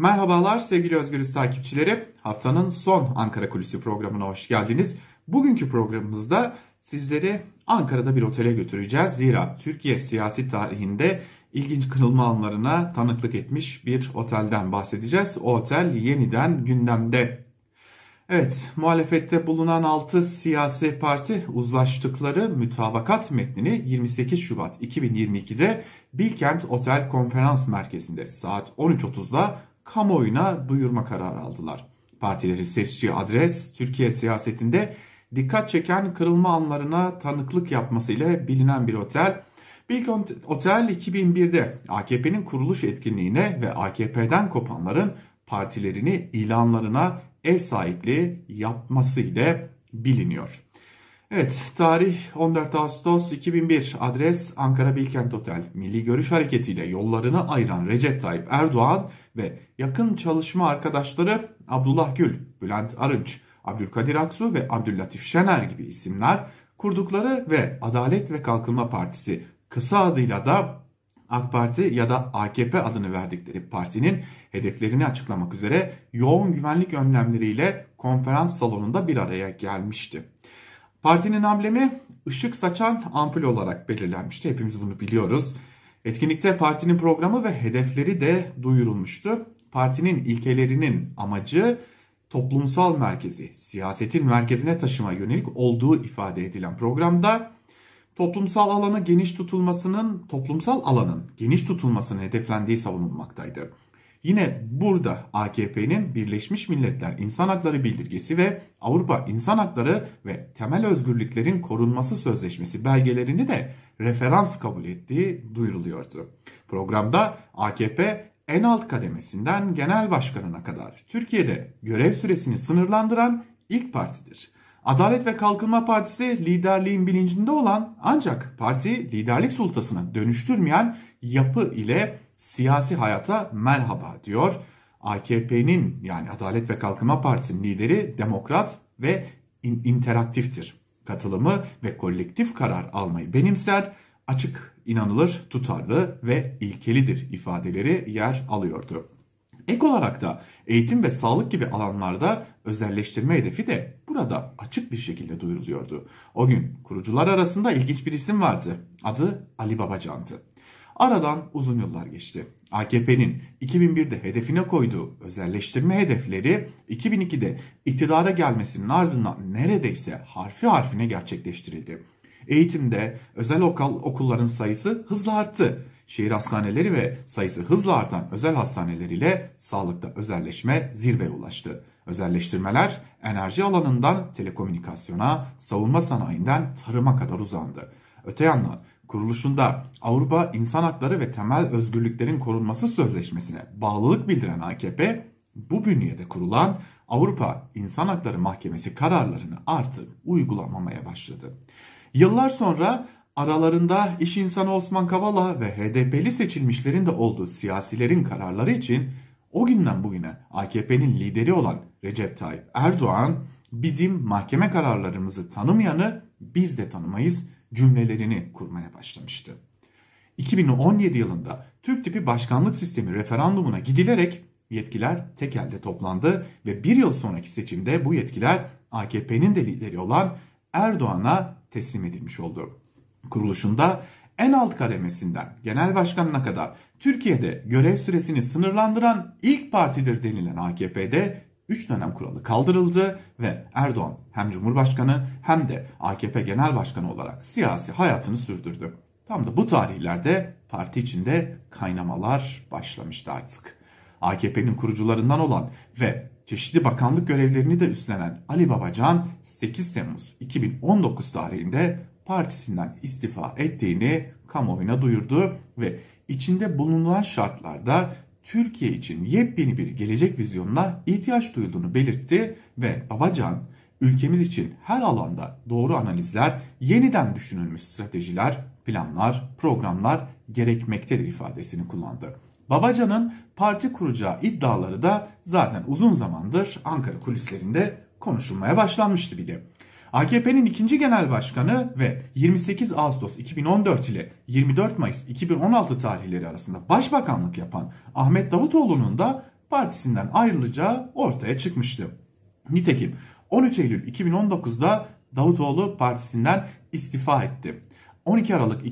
Merhabalar sevgili Özgürüz takipçileri. Haftanın son Ankara Kulisi programına hoş geldiniz. Bugünkü programımızda sizleri Ankara'da bir otele götüreceğiz. Zira Türkiye siyasi tarihinde ilginç kırılma anlarına tanıklık etmiş bir otelden bahsedeceğiz. O otel yeniden gündemde. Evet, muhalefette bulunan 6 siyasi parti uzlaştıkları mütabakat metnini 28 Şubat 2022'de Bilkent Otel Konferans Merkezi'nde saat 13.30'da kamuoyuna duyurma kararı aldılar. Partilerin seçtiği adres Türkiye siyasetinde dikkat çeken kırılma anlarına tanıklık yapmasıyla bilinen bir otel. Bilkent Otel 2001'de AKP'nin kuruluş etkinliğine ve AKP'den kopanların partilerini ilanlarına ev sahipliği yapması ile biliniyor. Evet, tarih 14 Ağustos 2001, adres Ankara Bilkent Otel. Milli Görüş Hareketi ile yollarını ayıran Recep Tayyip Erdoğan ve yakın çalışma arkadaşları Abdullah Gül, Bülent Arınç, Abdülkadir Aksu ve Abdüllatif Şener gibi isimler kurdukları ve Adalet ve Kalkınma Partisi, kısa adıyla da AK Parti ya da AKP adını verdikleri partinin hedeflerini açıklamak üzere yoğun güvenlik önlemleriyle konferans salonunda bir araya gelmişti. Partinin amblemi ışık saçan ampul olarak belirlenmişti. Hepimiz bunu biliyoruz. Etkinlikte partinin programı ve hedefleri de duyurulmuştu. Partinin ilkelerinin amacı toplumsal merkezi, siyasetin merkezine taşıma yönelik olduğu ifade edilen programda toplumsal alanın geniş tutulmasının hedeflendiği savunulmaktaydı. Yine burada AKP'nin Birleşmiş Milletler İnsan Hakları Bildirgesi ve Avrupa İnsan Hakları ve Temel Özgürlüklerin Korunması Sözleşmesi belgelerini de referans kabul ettiği duyuruluyordu. Programda AKP en alt kademesinden genel başkanına kadar Türkiye'de görev süresini sınırlandıran ilk partidir. Adalet ve Kalkınma Partisi liderliğin bilincinde olan ancak parti liderlik sultasına dönüştürmeyen yapı ile siyasi hayata merhaba diyor. AKP'nin yani Adalet ve Kalkınma Partisi'nin lideri demokrat ve interaktiftir. Katılımı ve kolektif karar almayı benimser, açık, inanılır, tutarlı ve ilkelidir ifadeleri yer alıyordu. Ek olarak da eğitim ve sağlık gibi alanlarda özelleştirme hedefi de burada açık bir şekilde duyuruluyordu. O gün kurucular arasında ilginç bir isim vardı. Adı Ali Babacan'dı. Aradan uzun yıllar geçti. AKP'nin 2001'de hedefine koyduğu özelleştirme hedefleri 2002'de iktidara gelmesinin ardından neredeyse harfi harfine gerçekleştirildi. Eğitimde özel okulların sayısı hızla arttı. Şehir hastaneleri ve sayısı hızla artan özel hastaneler ile sağlıkta özelleşme zirveye ulaştı. Özelleştirmeler enerji alanından telekomünikasyona, savunma sanayinden tarıma kadar uzandı. Öte yandan kuruluşunda Avrupa İnsan Hakları ve Temel Özgürlüklerin Korunması Sözleşmesi'ne bağlılık bildiren AKP, bu bünyede kurulan Avrupa İnsan Hakları Mahkemesi kararlarını artık uygulamamaya başladı. Yıllar sonra aralarında iş insanı Osman Kavala ve HDP'li seçilmişlerin de olduğu siyasilerin kararları için o günden bugüne AKP'nin lideri olan Recep Tayyip Erdoğan bizim mahkeme kararlarımızı tanımayanı biz de tanımayız cümlelerini kurmaya başlamıştı. 2017 yılında Türk tipi başkanlık sistemi referandumuna gidilerek yetkiler tek elde toplandı ve bir yıl sonraki seçimde bu yetkiler AKP'nin de lideri olan Erdoğan'a teslim edilmiş oldu. Kuruluşunda en alt kademesinden genel başkanına kadar Türkiye'de görev süresini sınırlandıran ilk partidir denilen AKP'de 3 dönem kuralı kaldırıldı ve Erdoğan hem Cumhurbaşkanı hem de AKP Genel Başkanı olarak siyasi hayatını sürdürdü. Tam da bu tarihlerde parti içinde kaynamalar başlamıştı artık. AKP'nin kurucularından olan ve çeşitli bakanlık görevlerini de üstlenen Ali Babacan 8 Temmuz 2019 tarihinde partisinden istifa ettiğini kamuoyuna duyurdu ve içinde bulunan şartlarda Türkiye için yepyeni bir gelecek vizyonuna ihtiyaç duyulduğunu belirtti ve Babacan ülkemiz için her alanda doğru analizler, yeniden düşünülmüş stratejiler, planlar, programlar gerekmektedir ifadesini kullandı. Babacan'ın parti kuracağı iddiaları da zaten uzun zamandır Ankara kulislerinde konuşulmaya başlanmıştı bile. AKP'nin ikinci genel başkanı ve 28 Ağustos 2014 ile 24 Mayıs 2016 tarihleri arasında başbakanlık yapan Ahmet Davutoğlu'nun da partisinden ayrılacağı ortaya çıkmıştı. Nitekim 13 Eylül 2019'da Davutoğlu partisinden istifa etti. 12 Aralık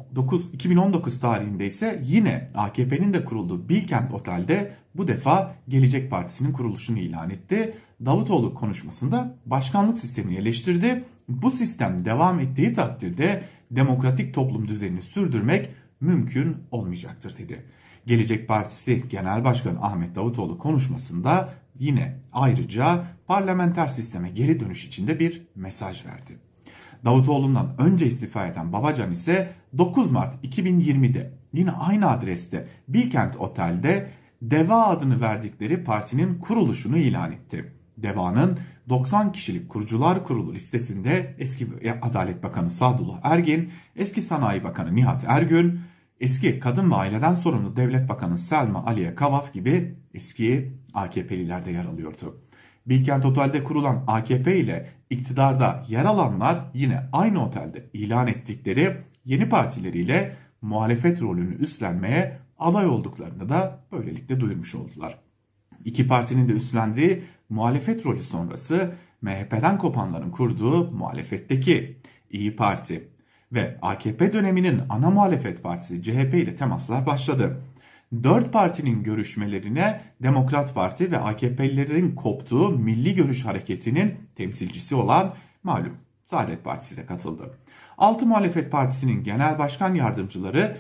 2019 tarihinde ise yine AKP'nin de kurulduğu Bilkent Otel'de bu defa Gelecek Partisi'nin kuruluşunu ilan etti. Davutoğlu konuşmasında başkanlık sistemini eleştirdi. Bu sistem devam ettiği takdirde demokratik toplum düzenini sürdürmek mümkün olmayacaktır dedi. Gelecek Partisi Genel Başkanı Ahmet Davutoğlu konuşmasında yine ayrıca parlamenter sisteme geri dönüş için de bir mesaj verdi. Davutoğlu'ndan önce istifa eden Babacan ise 9 Mart 2020'de yine aynı adreste Bilkent Otel'de DEVA adını verdikleri partinin kuruluşunu ilan etti. DEVA'nın 90 kişilik kurucular kurulu listesinde eski Adalet Bakanı Sadullah Ergin, eski Sanayi Bakanı Nihat Ergün, eski Kadın ve Aileden Sorumlu Devlet Bakanı Selma Aliye Kavaf gibi eski AKP'liler de yer alıyordu. Bilkent Otel'de kurulan AKP ile iktidarda yer alanlar yine aynı otelde ilan ettikleri yeni partileriyle muhalefet rolünü üstlenmeye aday olduklarını da böylelikle duyurmuş oldular. İki partinin de üstlendiği muhalefet rolü sonrası MHP'den kopanların kurduğu muhalefetteki İyi Parti ve AKP döneminin ana muhalefet partisi CHP ile temaslar başladı. Dört partinin görüşmelerine Demokrat Parti ve AKP'lilerin koptuğu Milli Görüş Hareketi'nin temsilcisi olan malum Saadet Partisi de katıldı. Altı muhalefet partisinin genel başkan yardımcıları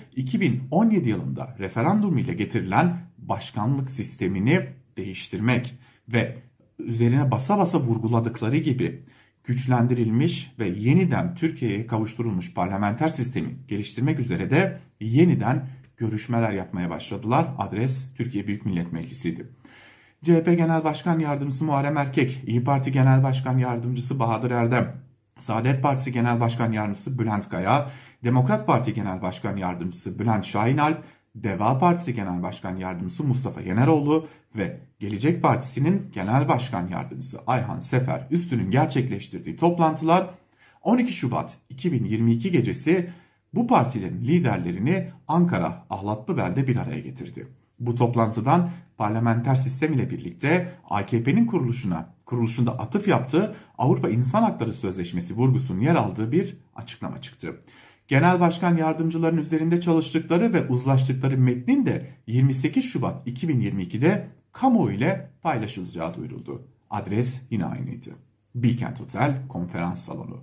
2017 yılında referandum ile getirilen başkanlık sistemini değiştirmek ve üzerine basa basa vurguladıkları gibi güçlendirilmiş ve yeniden Türkiye'ye kavuşturulmuş parlamenter sistemi geliştirmek üzere de yeniden görüşmeler yapmaya başladılar. Adres Türkiye Büyük Millet Meclisi'ydi. CHP Genel Başkan Yardımcısı Muharrem Erkek, İyi Parti Genel Başkan Yardımcısı Bahadır Erdem, Saadet Partisi Genel Başkan Yardımcısı Bülent Kaya, Demokrat Parti Genel Başkan Yardımcısı Bülent Şahinalp, Deva Partisi Genel Başkan Yardımcısı Mustafa Yeneroğlu ve Gelecek Partisi'nin Genel Başkan Yardımcısı Ayhan Sefer Üstün'ün gerçekleştirdiği toplantılar 12 Şubat 2022 gecesi bu partilerin liderlerini Ankara Ahlatlıbel'de bir araya getirdi. Bu toplantıdan parlamenter sistem ile birlikte AKP'nin kuruluşunda atıf yaptığı Avrupa İnsan Hakları Sözleşmesi vurgusunun yer aldığı bir açıklama çıktı. Genel Başkan Yardımcıların üzerinde çalıştıkları ve uzlaştıkları metnin de 28 Şubat 2022'de kamuoyu ile paylaşılacağı duyuruldu. Adres yine aynıydı. Bilkent Otel Konferans Salonu.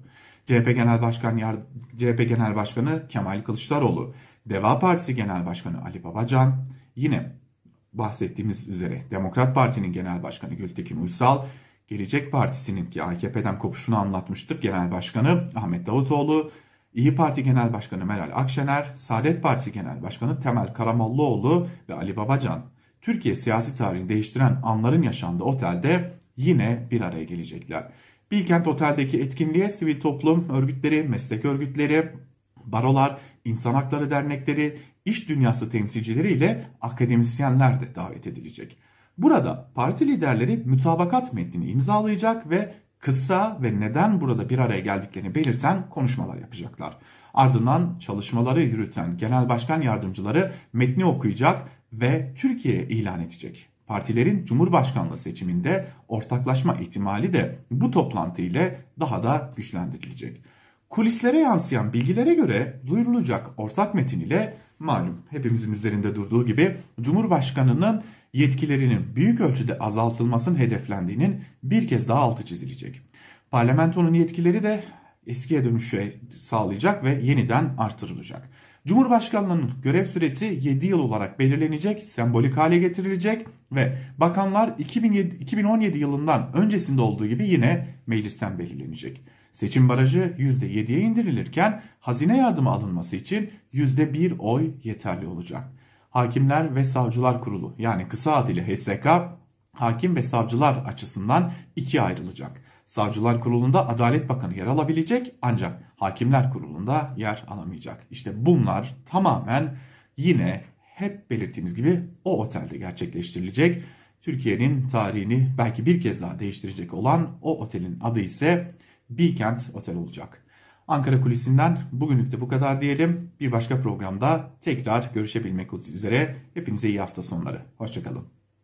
CHP Genel Başkanı Kemal Kılıçdaroğlu, Deva Partisi Genel Başkanı Ali Babacan, yine bahsettiğimiz üzere Demokrat Parti'nin Genel Başkanı Gültekin Uysal, Gelecek Partisi'nin ki AKP'den kopuşunu anlatmıştık Genel Başkanı Ahmet Davutoğlu, İyi Parti Genel Başkanı Meral Akşener, Saadet Partisi Genel Başkanı Temel Karamollaoğlu ve Ali Babacan, Türkiye siyasi tarihini değiştiren anların yaşandığı otelde yine bir araya gelecekler. Bilkent Otel'deki etkinliğe sivil toplum örgütleri, meslek örgütleri, barolar, insan hakları dernekleri, iş dünyası temsilcileri ile akademisyenler de davet edilecek. Burada parti liderleri mütabakat metnini imzalayacak ve kısa ve neden burada bir araya geldiklerini belirten konuşmalar yapacaklar. Ardından çalışmaları yürüten genel başkan yardımcıları metni okuyacak ve Türkiye'ye ilan edecek. Partilerin Cumhurbaşkanlığı seçiminde ortaklaşma ihtimali de bu toplantı ile daha da güçlendirilecek. Kulislere yansıyan bilgilere göre duyurulacak ortak metin ile malum hepimizin üzerinde durduğu gibi Cumhurbaşkanı'nın yetkilerinin büyük ölçüde azaltılmasının hedeflendiğinin bir kez daha altı çizilecek. Parlamentonun yetkileri de eskiye dönüşü sağlayacak ve yeniden artırılacak. Cumhurbaşkanlığının görev süresi 7 yıl olarak belirlenecek, sembolik hale getirilecek ve bakanlar 2017 yılından öncesinde olduğu gibi yine meclisten belirlenecek. Seçim barajı %7'ye indirilirken hazine yardımı alınması için %1 oy yeterli olacak. Hakimler ve Savcılar Kurulu yani kısa adıyla HSK hakim ve savcılar açısından ikiye ayrılacak. Savcılar Kurulu'nda Adalet Bakanı yer alabilecek ancak Hakimler Kurulu'nda yer alamayacak. İşte bunlar tamamen yine hep belirttiğimiz gibi o otelde gerçekleştirilecek. Türkiye'nin tarihini belki bir kez daha değiştirecek olan o otelin adı ise Bilkent Otel olacak. Ankara Kulisi'nden bugünlük de bu kadar diyelim. Bir başka programda tekrar görüşebilmek üzere. Hepinize iyi hafta sonları. Hoşçakalın.